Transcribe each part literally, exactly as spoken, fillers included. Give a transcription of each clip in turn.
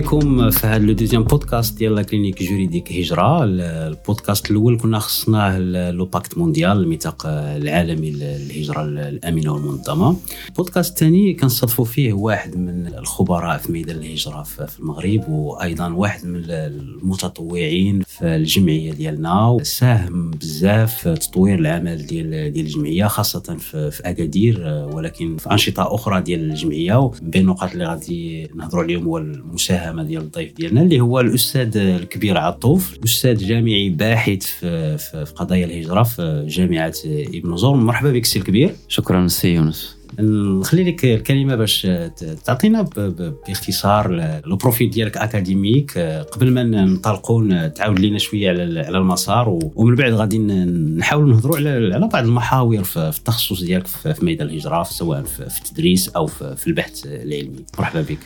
بكم في هذا لو دوزيام بودكاست ديال لا كلينيك جوريديك هجرة. البودكاست الاول كنا خصناه لو باكت مونديال، الميثاق العالمي للهجرة الامنه والمنظمه. البودكاست الثاني كنستضيفوا فيه واحد من الخبراء في ميدان الهجرة في المغرب، وايضا واحد من المتطوعين في الجمعيه ديالنا، ساهم بزاف في تطوير العمل ديال ديال الجمعيه خاصه في, في اكادير، ولكن في انشطه اخرى ديال الجمعيه. بين النقاط اللي غادي نهضروا عليهم هو المساهمه ديال الضيف ديالنا اللي هو الاستاذ الكبير عطوف، استاذ جامعي باحث في, في, في قضايا الهجره في جامعه ابن زور. مرحبا بك سي الكبير. شكرا سي يونس. نخلي لك الكلمه باش تعطينا باختصار لو بروفيل ديالك اكاديميك قبل ما ننطلقوا، تعاود لينا شويه على على المسار، ومن بعد غادي نحاولوا نهضروا على على بعض المحاور في التخصص ديالك في ميدان الهجره، سواء في التدريس او في البحث العلمي. مرحبا بك.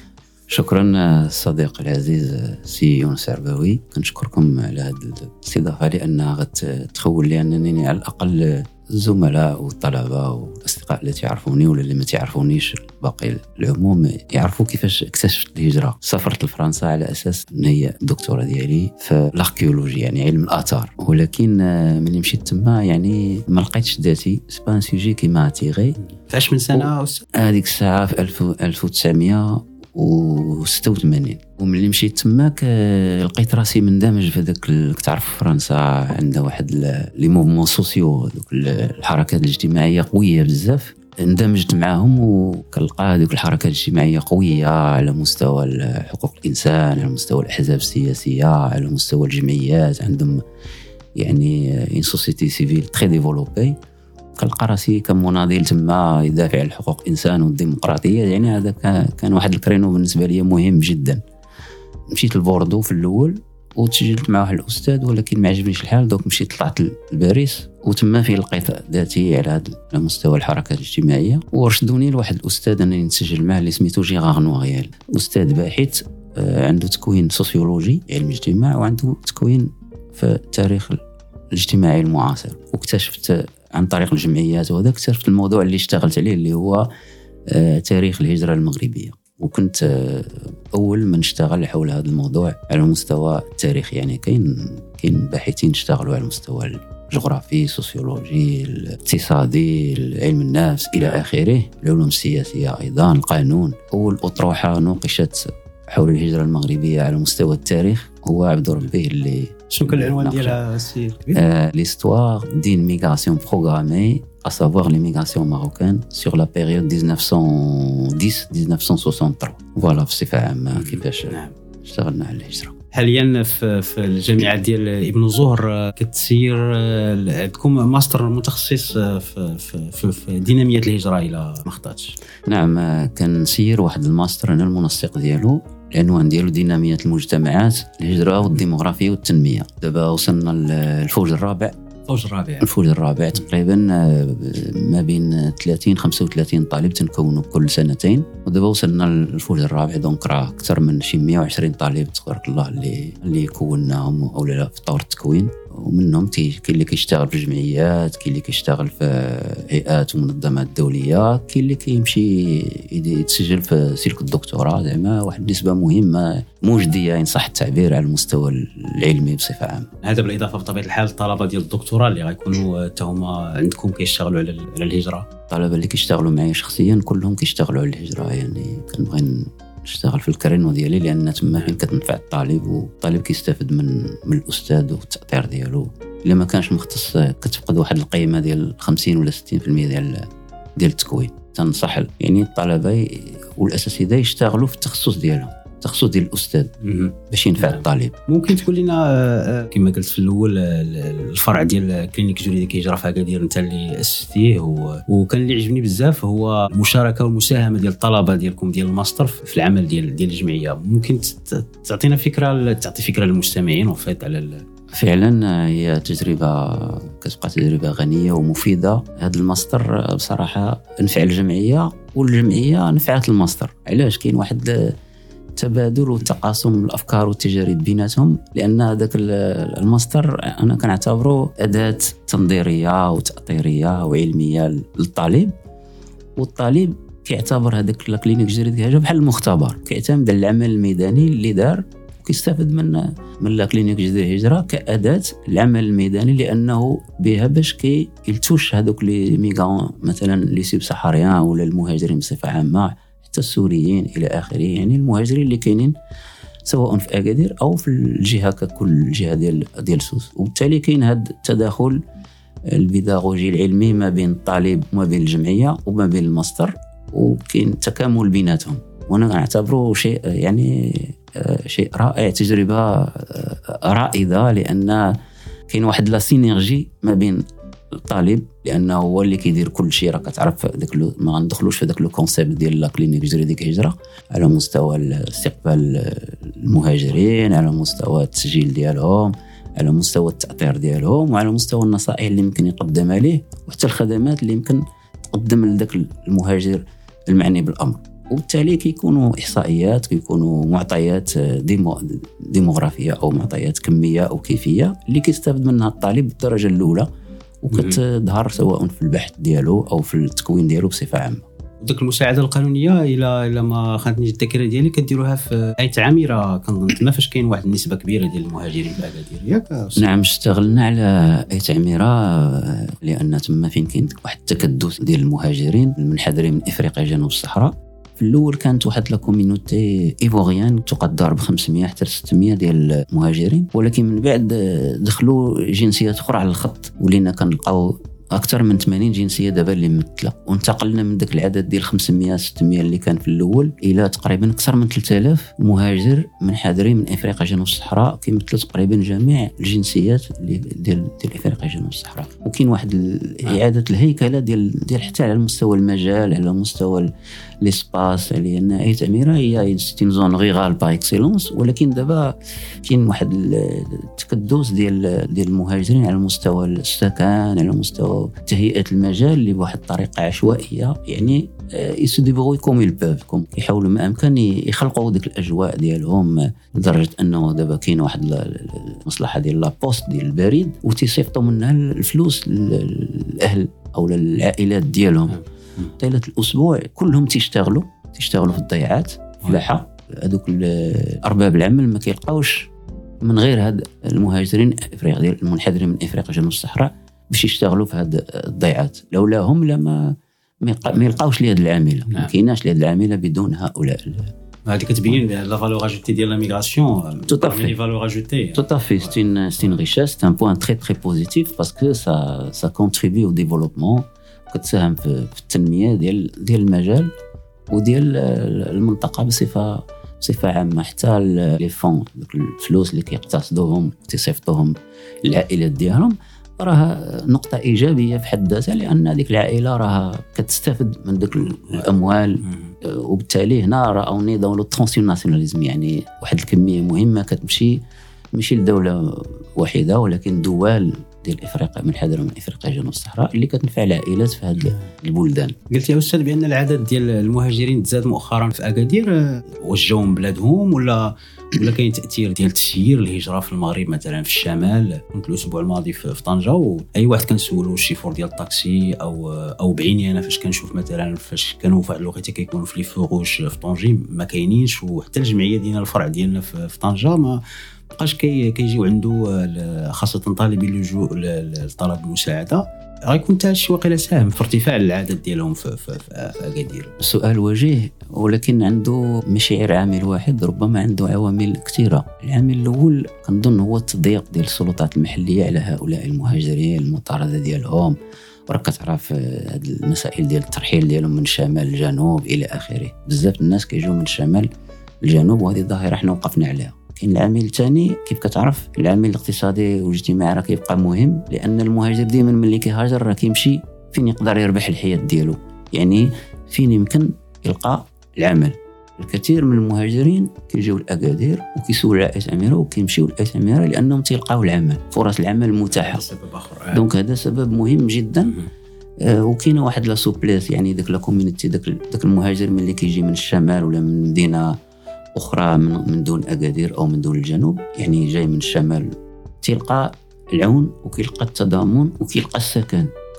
شكرا صديقي العزيز سي يونس عرباوي، كنشكركم على هذه الاستضافه لانها غتخول لي انني على الاقل الزملاء والطلبه والاصدقاء اللي تعرفوني ولا اللي ما تعرفونيش باقي العموم يعرفوا كيفاش اكتشفت الهجره. سافرت لفرنسا على اساس ان هي الدكتوراه ديالي في الاركيولوجي، يعني علم الاثار، ولكن ملي مشيت تما يعني ما لقيتش ذاتي. سبان سوجي كي ما تيغي. فاش من سنه هذيك الساعه في ألف وتسعمية وستة وثمانين، وملي مشيت تماك لقيت راسي مندمج في ذاك. تعرف فرنسا عندها واحد لي موفمون سوسيو، دوك الحركات الاجتماعيه قويه بزاف، اندمجت معهم وكنلقى هذوك الحركات الاجتماعيه قويه على مستوى حقوق الانسان، على مستوى الاحزاب السياسيه، على مستوى الجمعيات، عندهم يعني ان سوسيتي سيفيل تري ديفلوبي. كنلقى راسي كمناضل تما يدافع عن حقوق الانسان والديمقراطيه، يعني هذا كان واحد الكرينو بالنسبه لي مهم جدا. مشيت لبوردو في الاول وتسجلت مع واحد الاستاذ، ولكن ما عجبنيش الحال، دوك مشيت طلعت لباريس وتما فين لقيت ذاتي على هذا مستوى الحركات الاجتماعيه، ورشدوني لواحد الاستاذ انني نتسجل معه اللي سميتو جيغار نوغيال، استاذ باحث عنده تكوين سوسيولوجي علم الاجتماع وعنده تكوين في التاريخ الاجتماعي المعاصر. واكتشفت عن طريق الجمعيات وهذا اكتشفت الموضوع اللي اشتغلت عليه اللي هو تاريخ الهجرة المغربية، وكنت أول من اشتغل حول هذا الموضوع على المستوى التاريخي. يعني كاين كاين باحثين اشتغلوا على المستوى الجغرافي، السوسيولوجي، الاقتصادي، علم النفس إلى آخره، العلوم السياسية أيضا، القانون. أول أطروحة نوقشت حول الهجرة المغربية على مستوى التاريخ هو عبد ربه اللي شنو كان العنوان ديالها السيد؟ l'histoire d'une migration programmée, à savoir l'immigration marocaine sur la période ألف وتسعمية وعشرة إلى ألف وتسعمية وثلاثة وستين. فوالا بصفة عامة كيفاش اشتغلنا على الهجرة. حاليا في في الجامعه ديال ابن زهر كتسير عندكم ماستر متخصص في في في ديناميه الهجره الى ما خطاتش. نعم، كنسير واحد الماستر انا المنسق ديالو، العنوان ديالو ديناميه المجتمعات، الهجره والديموغرافيا والتنميه. دابا وصلنا للفوج الرابع الفوج الرابع الفوج الرابع تقريبا ما بين ثلاثين خمسة وثلاثين طالب تنكونوا كل سنتين، ودابا وصلنا للفوج الرابع. دونك راه اكثر من شي مية وعشرين طالب تبارك الله اللي اللي كوناهم او لا في طور التكوين، ومنهم كاين اللي كيشتغل في الجمعيات، كاين اللي كيشتغل في هيئات ومنظمات دوليه، كاين اللي كيمشي يتسجل في سلك الدكتوراه. زعما واحد النسبه مهمه مجديه ان صح التعبير على المستوى العلمي بصفه عامه. هذا بالاضافه بطبيعه الحال الطلبه ديال الدكتوراه اللي غيكونوا تهما عندكم كيشتغلوا على على الهجره. الطلبه اللي كيشتغلوا معايا شخصيا كلهم كيشتغلوا على الهجره، يعني كنبغي نشتغل في الكرينو ديالي لان تما فين كتنفع الطالب، والطالب كيستافد من من الاستاذ والتاثير ديالو. الا ما كانش مختص كتفقد واحد القيمه ديال خمسين ولا ستين بالمية ديال ديال التكوين. تنصح يعني الطلبه والاساتذه يشتغلوا في التخصص ديالهم، التخصص ديال الاستاذ باش ينفع الطالب. ممكن تقول لنا كما قلت في الاول الفرع ديال كلينيك جوريديك هجرة في أكادير انت اللي اسستيه، وكان اللي عجبني بزاف هو المشاركه والمساهمه ديال الطلبه ديالكم ديال الماستر في العمل ديال ديال الجمعيه. ممكن تعطينا فكره تعطي فكره للمستمعين وفات على فعلا هي تجربه كتبقى تجربه غنيه ومفيده. هذا الماستر بصراحه نفع الجمعيه والجمعيه نفعت الماستر. علاش؟ كاين واحد تبادل وتقاسم الافكار والتجارب بيناتهم، لان هذاك الماستر انا كنعتبره اداه تنظيريه وتاطيريه وعلميه للطالب، والطالب كيعتبر هذاك لا كلينيك جريديك هاجه بحال المختبر، كيعتمد على العمل الميداني اللي دار وكيستافد من من لا كلينيك جديد هجرة كأداة العمل الميداني، لأنه بها باش كي يلتوش هذوك لي ميغان مثلا لي سيب سحاريان ولا المهاجرين بصفة عامة، حتى السوريين إلى آخره، يعني المهاجرين اللي كاينين سواء في أكادير أو في الجهة ككل الجهة ديال ديال سوس. وبالتالي كاين هذا التداخل البيداغوجي العلمي ما بين الطالب وما بين الجمعية وما بين الماستر، وكاين تكامل بيناتهم، وانا اعتبره شيء يعني شيء رائع، تجربة رائدة، لأن كاين واحد لا سينيرجي ما بين الطالب، لأنه هو اللي كيدير كل شيء. راك تعرف داك ما غندخلوش في داك لو كونسيبت ديال لا كلينيك جريديك هجرة على مستوى استقبال المهاجرين، على مستوى التسجيل ديالهم، على مستوى التأطير ديالهم، وعلى مستوى النصائح اللي يمكن يقدمها ليه، وحتى الخدمات اللي يمكن تقدم لذاك المهاجر المعني بالأمر. وبالتالي كيكونوا إحصائيات، كيكونوا معطيات ديمو ديموغرافية أو معطيات كمية أو كيفية اللي كيستافد منها الطالب بالدرجة الأولى، وكتظهر سواء في البحث ديالو أو في التكوين ديالو بصفة عامة. وداك المساعده القانونيه الى الى ما خانتنيش الذاكره ديالي كديروها في ايت عامره، كنظن تما فاش كاين واحد النسبه كبيره ديال المهاجرين في اكادير، ياك؟ نعم، اشتغلنا على ايت عامره لان تما فين كاين واحد التكدس ديال المهاجرين المنحدرين من افريقيا جنوب الصحراء. في الاول كانت واحد لا كوميونيتي ايفوريان تقدر ب خمسمية حتى ستمية ديال المهاجرين، ولكن من بعد دخلوا جنسيات اخرى على الخط، ولينا كنلقاو أكثر من ثمانين جنسية دابا اللي ممثلة، وانتقلنا من ذاك العدد ديال خمسمية ستمية اللي كان في الأول إلى تقريبا أكثر من ثلاثة آلاف مهاجر منحدرين من إفريقيا جنوب الصحراء، كيمثلوا تقريبا جميع الجنسيات اللي ديال ديال إفريقيا جنوب الصحراء. وكاين واحد إعادة الهيكلة ديال ديال حتى على مستوى المجال، على مستوى ليسباس، لأن ايت عامره هي ستين زون غيغال باغ اكسيلونس، ولكن دابا كاين واحد التكدس ديال ديال المهاجرين على مستوى السكن، على مستوى تهيئة المجال اللي بواحد الطريقة عشوائية، يعني يسدبغوا كوم يلباب كوم يحاولوا ما أمكن يخلقوا ديك الأجواء ديالهم، لدرجة أنه دابا كاين واحد المصلحة ديال لابوست ديال البريد وتيصيفطوا منها الفلوس للأهل أو للعائلات ديالهم طيلة الأسبوع، كلهم تيشتغلوا تيشتغلوا في الضيعات فلاحة. هذوك أرباب العمل ما كيلقاوش من غير هاد المهاجرين افريقيا المنحدرين من افريقيا جنوب الصحراء باش يشتغلوا في هاد الضيعات، لولاهم لما ما يلقاوش لهاد العامله. ما كايناش لهاد العامله بدون هؤلاء. هذه كتبين لا فالور اجوتي ديال لا ميغراسيون، tout à fait لي فالور اجوتي tout à fait c'est une c'est une richesse, c'est un point très très positif parce que ça ça contribue au développement، كتساهم في التنميه ديال ديال المجال وديال المنطقه بصفه بصفه عامه. حتى لي فون الفلوس اللي كيقتصدوهم وتيصيفطوهم العائلات ديالهم راها نقطه ايجابيه في حد ذاتها، لان هذيك العائله راها كتستافد من ديك الاموال، وبالتالي هنا راهو نظام لو ترانسيوناليزم، يعني واحد الكميه مهمه كتمشي ماشي لدوله واحده ولكن دول ديال افريقيا منحدره من افريقيا جنوب الصحراء اللي كتنفع العائلات في هذه البلدان. قلت يا استاذ بان العدد ديال المهاجرين تزاد مؤخرا في اكادير، واش جاوا من بلادهم ولا ولا كاين تاثير ديال تسيير الهجره في المغرب مثلا في الشمال؟ كنت الاسبوع الماضي في طنجه، واي واحد كنسولو الشيفور ديال الطاكسي او او بعيني انا فاش كنشوف مثلا فاش كانوا في واحد الوقيته كيكونوا في لي فوغوش في طنجي ما كاينينش، وحتى الجمعيه ديالنا الفرع ديالنا في طنجه ما بقاش كي كيجيو عنده خاصه طالبي اللجوء لطلب المساعده. غيكون حتى شي واقيلا ساهم في ارتفاع العدد ديالهم في في في اكادير. السؤال وجيه، ولكن عنده ماشي غير عامل واحد، ربما عنده عوامل كثيره. العامل الاول كنظن هو التضييق ديال السلطات المحليه على هؤلاء المهاجرين، المطارده ديالهم، وراك كتعرف هاد المسائل ديال الترحيل ديالهم من الشمال للجنوب الى اخره. بزاف الناس كيجيو من الشمال للجنوب، وهذه ظاهره احنا وقفنا عليها. كاين العامل الثاني كيف كتعرف العامل الاقتصادي والاجتماعي راه كيبقى مهم، لان المهاجر ديما ملي كيهاجر راه كيمشي فين يقدر يربح الحياه ديالو، يعني فين يمكن يلقى العمل. الكثير من المهاجرين كيجيو لاكادير وكيسولوا على ايت عامره وكيمشيو لايت عامره لانهم تيلقاو العمل، فرص العمل متاحه. دونك هذا سبب مهم جدا. آه وكاينه واحد لا سوبليس، يعني داك لا كوميونيتي داك داك المهاجر ملي كيجي من الشمال ولا من مدينه أخرى من من دون أكادير أو من دون الجنوب، يعني جاي من الشمال، تلقى العون وكيلقى التضامن وكيلقى السكن.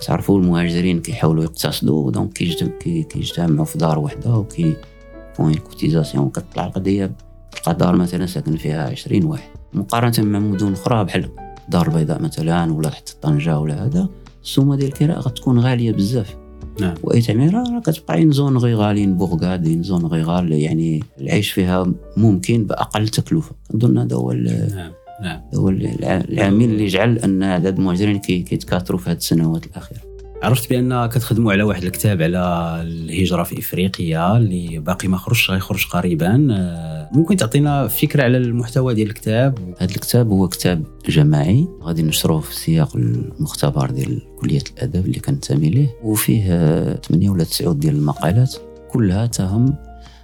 كتعرفوا المهاجرين كيحاولوا يقتصدوا، دونك كيجتمعوا في دار وحده وكي بوين كوتيزاسيون، كتطلع القضيه تلقى دار مثلا ساكن فيها عشرين واحد مقارنه مع مدن اخرى بحال دار البيضاء مثلا ولا حتى طنجه ولا هذا، السومه ديال الكراء غتكون غاليه بزاف. نعم. واي تعميره راه كتبقى زون غيغالين بوغاد زون غيغال، يعني العيش فيها ممكن باقل تكلفه. كنظن هذا هو نعم نعم هو العامل اللي جعل ان عدد المهاجرين كيتكاثروا في هذه السنوات الاخيره. عرفت بان كتخدموا على واحد الكتاب على الهجره في افريقيا اللي باقي ما خرجش، غيخرج قريبا. ممكن تعطينا فكره على المحتوى ديال الكتاب؟ هذا الكتاب هو كتاب جماعي غادي نشروه في سياق المختبر ديال كليه الادب اللي كنتمي ليه، وفيه ثمانية ولا تسعة ديال المقالات كلها تهم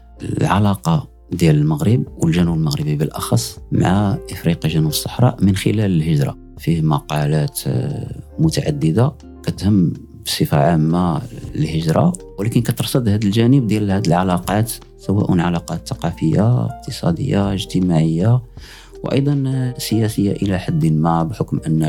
العلاقه ديال المغرب والجنوب المغربي بالاخص مع افريقيا جنوب الصحراء من خلال الهجره. فيه مقالات متعدده كتهم بصفه عامه الهجره، ولكن كترصد هذا الجانب ديال هذه العلاقات، سواء علاقات ثقافيه اقتصاديه اجتماعيه وايضا سياسيه الى حد ما، بحكم ان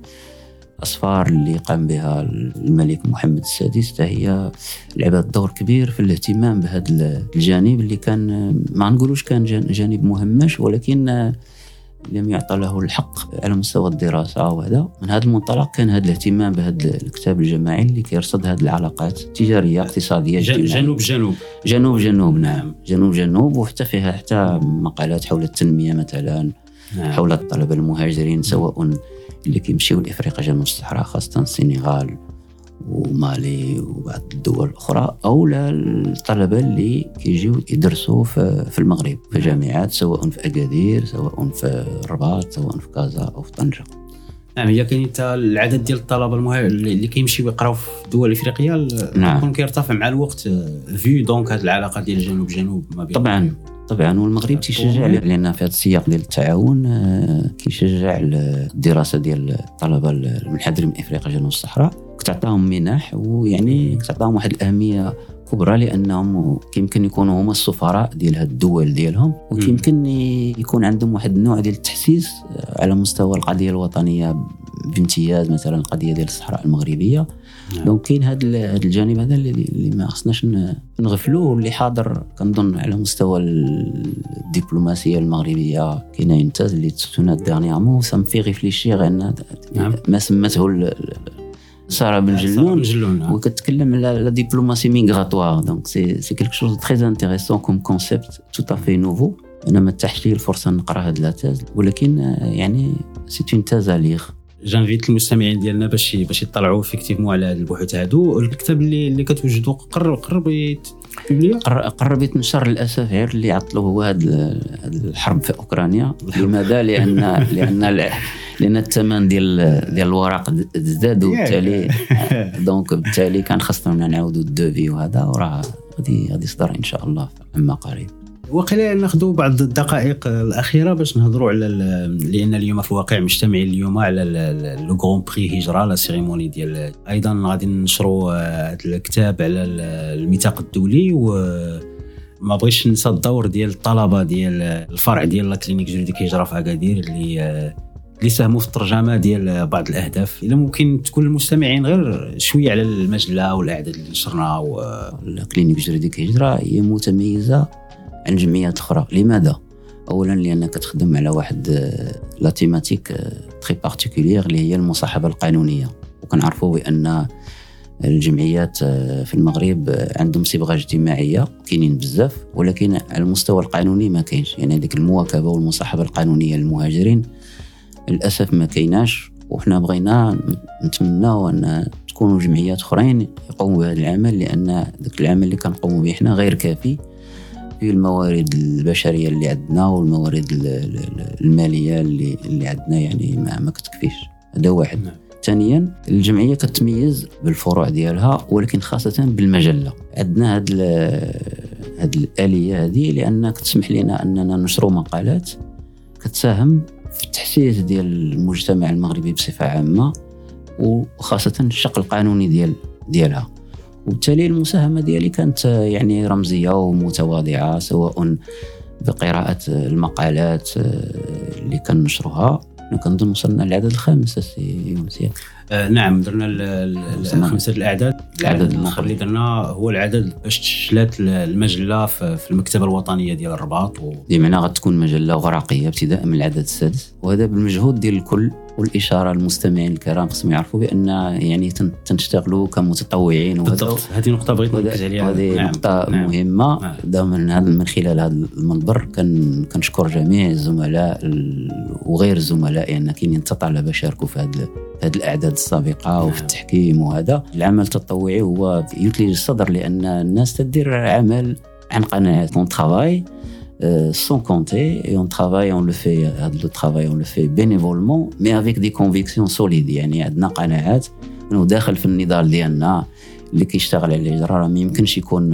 الأسفار اللي قام بها الملك محمد السادس هي لعبت دور كبير في الاهتمام بهذا الجانب اللي كان ما نقولوش كان جانب مهمش، ولكن لم يعطى له الحق على مستوى الدراسة. وهذا من هذا المنطلق كان هذا الاهتمام بهذا الكتاب الجماعي اللي كيرصد هذه العلاقات التجارية اقتصادية اجتماعية. جنوب جنوب جنوب جنوب نعم جنوب جنوب وحتى فيها حتى مقالات حول التنمية مثلا، نعم. حول الطلبة المهاجرين سواء اللي كيمشيو لافريقيا جنوب الصحراء خاصه السنغال ومالي وبعض الدول الاخرى، او الطلبه اللي كيجيو يدرسوا في المغرب في جامعات سواء في اكادير سواء في الرباط سواء في كازا او في طنجه. نعم. هي كاين حتى العدد ديال الطلبه المهاجرين اللي كيمشيو يقراو في دول افريقيا نعم. يكون كيرتفع مع الوقت في دونك هذه العلاقه ديال الجنوب جنوب ما بين طبعا طبعا والمغرب تيشجع لان في هذا السياق ديال التعاون كيشجع الدراسه ديال الطلبه المنحدرين من افريقيا جنوب الصحراء، كتعطيهم منح ويعني كتعطيهم واحد الاهميه كبرى لانهم كيمكن يكونوا هما السفراء ديال هاد الدول ديالهم، ويمكن يكون عندهم واحد النوع ديال التحسيس على مستوى القضيه الوطنيه بامتياز، مثلا القضيه ديال الصحراء المغربيه. دونك كاين هذا الجانب هذا اللي ما خصناش نغفلوه، واللي حاضر كنظن على مستوى الدبلوماسيه المغربيه. كاين انتاج اللي تسونا ديرنيامون سام في ريفليشير ان ما سمته سارة بن جلون وكتكلم على لا دبلوماسي ميغراتوار. دونك سي سي كيلكو شوز تري انتريسون كوم كونسيبت تو افي نوفو. انا ما تحش لي الفرصه نقرا هاد لا تاز، ولكن يعني سي اون تاز ا ليغ. جانفيت المستمعين ديالنا باش باش يطلعوا فيكتيفمون على هاد البحوث هادو. الكتاب اللي اللي كتوجدوا قرب قرب يتبلي قرب يتنشر للاسف، غير اللي عطلوه هو هاد الحرب في اوكرانيا. لماذا؟ لان لان لان الثمن ديال ديال الورق زاد، وبالتالي دونك بالتالي كان خصنا نعاودوا الدوفي، وهذا وراه غادي غادي يصدر ان شاء الله عما قريب. وقيلا ناخذوا بعض الدقائق الأخيرة باش نهضروا على، لأن اليوم في الواقع مجتمعين اليوم على لو غران بري هجرة، لا سيريموني ديال. أيضا غادي ننشروا الكتاب على الميثاق الدولي، وما بغيش ننسى الدور ديال الطلبة ديال الفرع ديال لا كلينيك جوريديك هجرة في أكادير اللي اللي ساهموا في الترجمة ديال بعض الأهداف. إذا ممكن تكون المستمعين غير شوية على المجلة والأعداد اللي نشرنا. لا كلينيك جوريديك هجرة هي متميزة عن جمعيات أخرى. لماذا؟ أولا لأنها كتخدم على واحد لا تيماتيك تري بارتيكولير اللي هي المصاحبة القانونية، وكنعرفوا بأن الجمعيات في المغرب عندهم صبغة اجتماعية كاينين بزاف، ولكن على المستوى القانوني ما كاينش. يعني هذيك المواكبة والمصاحبة القانونية للمهاجرين للأسف ما كايناش، وحنا بغينا نتمنى أن تكونوا جمعيات أخرين يقوموا بهذا العمل، لأن ذاك العمل اللي كنقوموا به حنا غير كافي في الموارد البشرية اللي عندنا والموارد المالية اللي اللي عندنا، يعني ما, ما كتكفيش. هذا واحد. ثانيا الجمعية كتميز بالفروع ديالها، ولكن خاصة بالمجلة. عندنا هاد هاد الآلية هذه لأنها كتسمح لنا أننا نشروا مقالات كتساهم في التحسيس ديال المجتمع المغربي بصفة عامة، وخاصة الشق القانوني ديال ديالها. وبالتالي المساهمة ديالي كانت يعني رمزية ومتواضعة، سواء بقراءة المقالات اللي كنشرها. كنظن وصلنا للعدد الخامس سي مزيان. آه نعم درنا خمسه الاعداد. العدد الاخر اللي درنا هو العدد باش تشلات المجله في المكتبه الوطنيه ديال الرباط و... بمعنى غتكون مجله ورقيه ابتداء من العدد السادس، وهذا بالمجهود ديال الكل. والاشاره للمستمعين الكرام خصهم يعرفوا بان يعني تنشتغلوا كمتطوعين. بالضبط، هذه نقطه بغيت نركز عليها. هذه نعم. نقطه نعم. مهمه. نعم. من هذا من خلال هذا المنبر كان كنشكر جميع الزملاء وغير الزملاء يعني كاينين طلبه شاركوا في هذه هذه الاعداد السابقه. نعم. وفي التحكيم. وهذا العمل التطوعي هو يثلج الصدر، لان الناس تدير عمل عن قناعه. اون ترافاي sans compter et on travaille on le fait le travail on le fait bénévolement mais avec des convictions solides. يعني عندنا قناعات انه داخل في النضال ديالنا اللي كيشتغل على الهجره راه ما يمكنش يكون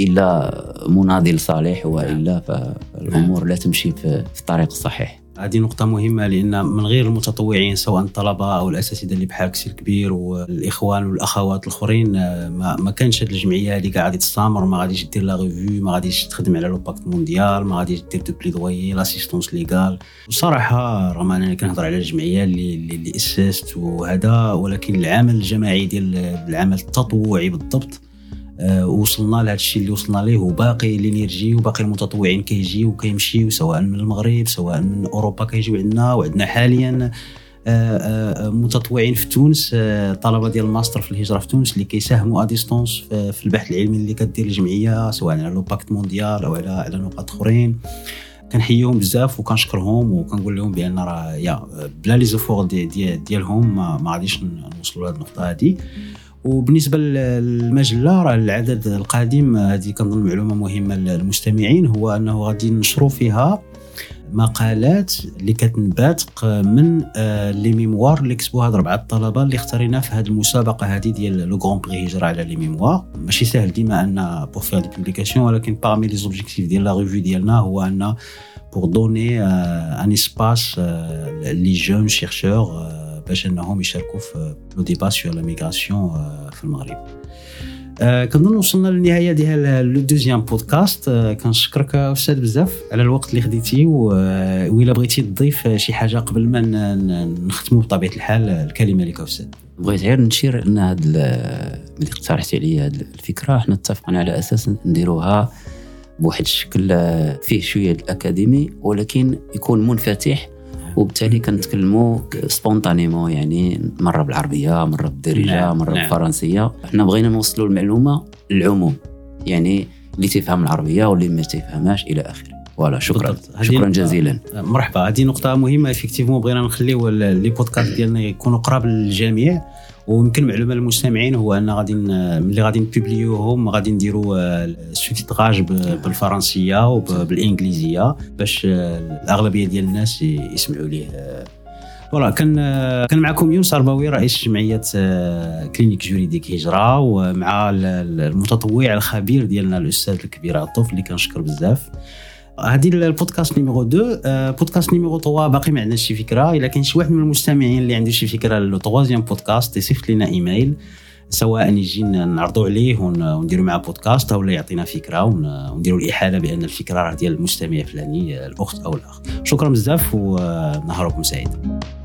الا مناضل صالح، والا فالامور لا تمشي في الطريق الصحيح. هذه نقطة مهمة، لأن من غير المتطوعين سواء الطلبة أو الأساتذة اللي بحال كسير كبير والإخوان والأخوات الآخرين ما ما كانش هذه الجمعية اللي قاعدة تستمر. ما غاديش دير لا ريفيو، ما غاديش تخدم على لو باكت مونديال، ما غاديش دير دو بليدويي لاسيستونس ليغال. وصراحة رغم أنني كنهضر على الجمعية اللي اللي أسست وهذا، ولكن العمل الجماعي ديال العمل التطوعي بالضبط أه وصلنا لهذا الشيء اللي وصلنا ليه، وباقي الانرجي وباقي المتطوعين كيجيو وكيمشيو سواء من المغرب سواء من اوروبا كيجيو عندنا. وعندنا حاليا أه أه متطوعين في تونس، أه طلبه ديال الماستر في الهجره في تونس اللي كيساهموا اديستونس في, في البحث العلمي اللي كدير الجمعيه سواء على لو باكت مونديال او على على نقاط اخرين. كنحييهم بزاف وكنشكرهم وكنقول لهم بان راه يا بلا لي زوفور دي دي ديالهم ما غاديش نوصلوا لهذه النقطه هذه. وبالنسبه للمجله راه العدد القادم هذه كنظن معلومه مهمه للمستمعين، هو انه غادي ننشروا فيها مقالات اللي كتنبات من لي ميموار اللي كتبوا هاد اربعه الطلبه اللي اختارينا في هذه المسابقه هذه ديال لو غران بري هجره على لي ميموار. ماشي سهل ديما ان بور فير دي بوبليكاسيون، ولكن بارمي لي زوبجيكتيف ديال لا ريفيو ديالنا هو ان بور دوني ان اسباس لي جون شيرشور باش انهم يشاركوا في لو ديبا سور لا ميغراسيون في المغرب. أه كنظن وصلنا للنهايه ديال لو دوزيام بودكاست. أه كنشكرك استاذ بزاف على الوقت اللي خديتي، وإلا بغيتي تضيف شي حاجه قبل ما نختموا بطبيعه الحال الكلمه لك استاذ. بغيت غير نشير ان هذا اللي اقترحتي عليا هذه الفكره حنا اتفقنا على اساس نديروها بواحد الشكل فيه شويه الاكاديمي ولكن يكون منفتح، وبالتالي كنتكلموا سبونطانيمون، يعني مره بالعربيه مره بالدارجه نعم. مره نعم. بالفرنسيه. احنا بغينا نوصلوا المعلومه للعموم، يعني اللي تفهم العربيه واللي ما تفهمهاش الى اخره. ولا شكرا شكرا جزيلا. مرحبا. هذه نقطه مهمه افكتيفمون، بغينا نخليو لي بودكاست ديالنا يكونوا قراب للجميع. ويمكن معلومه للمستمعين هو ان غادي ملي غادي نبوبليوهم غادي نديروا السوتيتراج بالفرنسيه وبالانجليزيه باش الاغلبيه ديال الناس يسمعوا ليه. فوالا كان كان معكم يونس عرباوي رئيس جمعيه كلينيك جوريديك هجره، ومع المتطوع الخبير ديالنا الاستاذ الكبير عطوف اللي كنشكر بزاف. هذه البودكاست نيميرو اثنين. بودكاست نيميرو ثلاثة باقي ما عندناش شي فكره. الا كاين شي واحد من المستمعين اللي عنده شي فكره للو ثلاثيام بودكاست يصيفط لنا ايميل، سواء يجي نعرضوا عليه ونديروا معه بودكاست او يعطينا فكره ونديروا الاحاله بان الفكره راه ديال المستمع الفلاني الاخت او الاخ. شكرا بزاف ونهاركم سعيد.